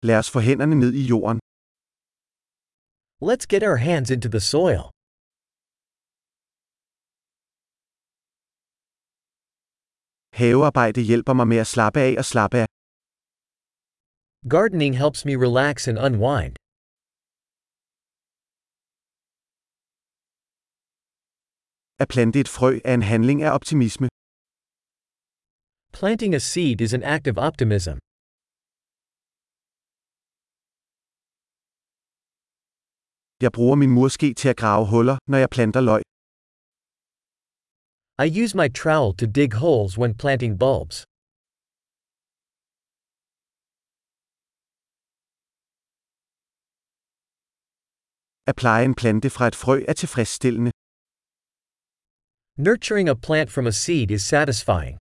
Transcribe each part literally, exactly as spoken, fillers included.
Lad os få hænderne ned i jorden. Let's get our hands into the soil. Havearbejde hjælper mig med at slappe af og slappe af. Gardening helps me relax and unwind. At plante et frø er en handling af optimisme. Planting a seed is an act of optimism. Jeg bruger min murske til at grave huller, når jeg planter løg. I use my trowel to dig holes when planting bulbs. At pleje en plante fra et frø er tilfredsstillende. Nurturing a plant from a seed is satisfying.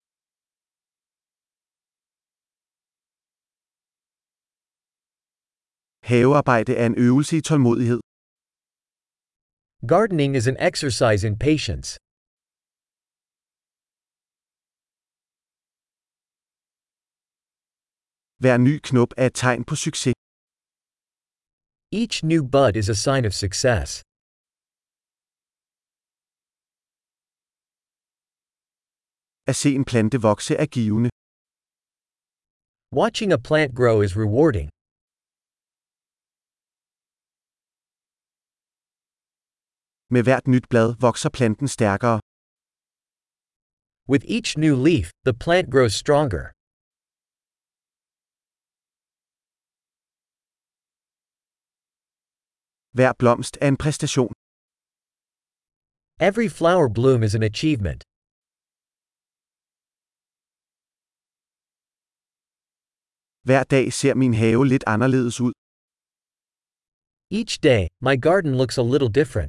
Havearbejde er en øvelse i tålmodighed. Gardening is an exercise in patience. Hver ny knop er et tegn på succes. Each new bud is a sign of success. At se en plante vokse er givende. Watching a plant grow is rewarding. Med hvert nyt blad vokser planten stærkere. With each new leaf, the plant grows stronger. Hver blomst er en præstation. Every flower bloom is an achievement. Hver dag ser min have lidt anderledes ud. Each day, my garden looks a little different.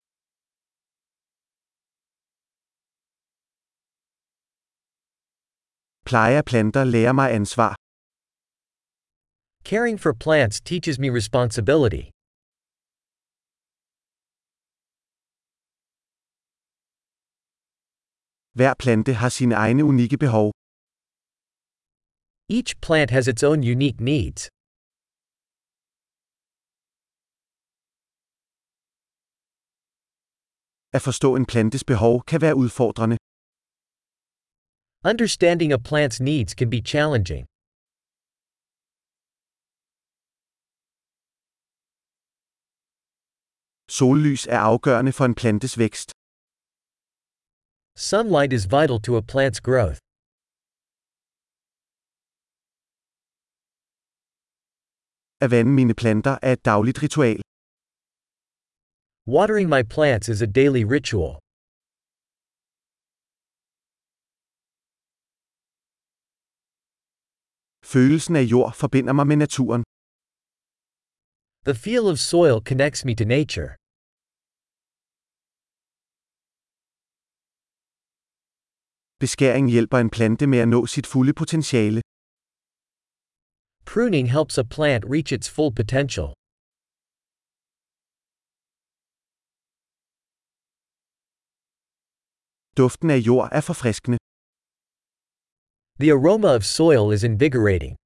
Pleje af planter lærer mig ansvar. Caring for plants teaches me responsibility. Hver plante har sine egne unikke behov. Each plant has its own unique needs. At forstå en plantes behov kan være udfordrende. Understanding a plant's needs can be challenging. Sollys er afgørende for en plantes vækst. Sunlight is vital to a plant's growth. At vande mine planter er et dagligt ritual. Watering my plants is a daily ritual. Følelsen af jord forbinder mig med naturen. The feel of soil connects me to nature. Beskæring hjælper en plante med at nå sit fulde potentiale. Pruning helps a plant reach its full potential. Duften af jord er forfriskende. The aroma of soil is invigorating.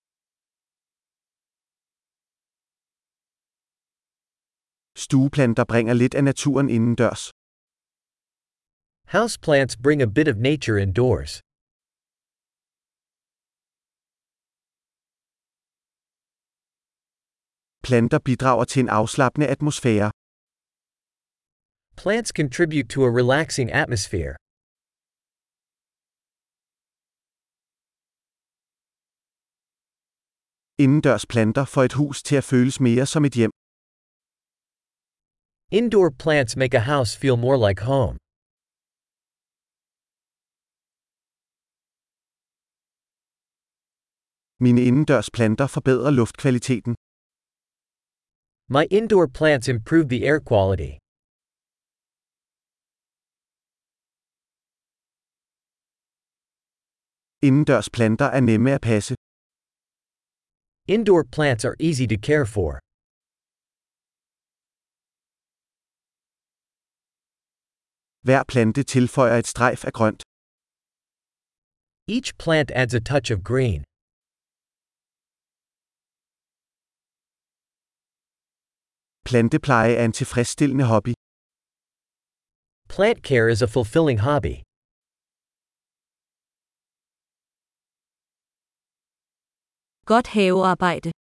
Stueplanter bringer lidt af naturen indendørs. Houseplants bring a bit of nature indoors. Planter bidrager til en afslappende atmosfære. Plants contribute to a relaxing atmosphere. Indendørs planter får et hus til at føles mere som et hjem. Indoor plants make a house feel more like home. Mine indendørs planter forbedrer luftkvaliteten. My indoor plants improve the air quality. Indendørs planter er nemme at passe. Indoor plants are easy to care for. Hver plante tilføjer et strejf af grønt. Each plant adds a touch of green. Plantepleje er en tilfredsstillende hobby. Plant care is a fulfilling hobby. Godt havearbejde.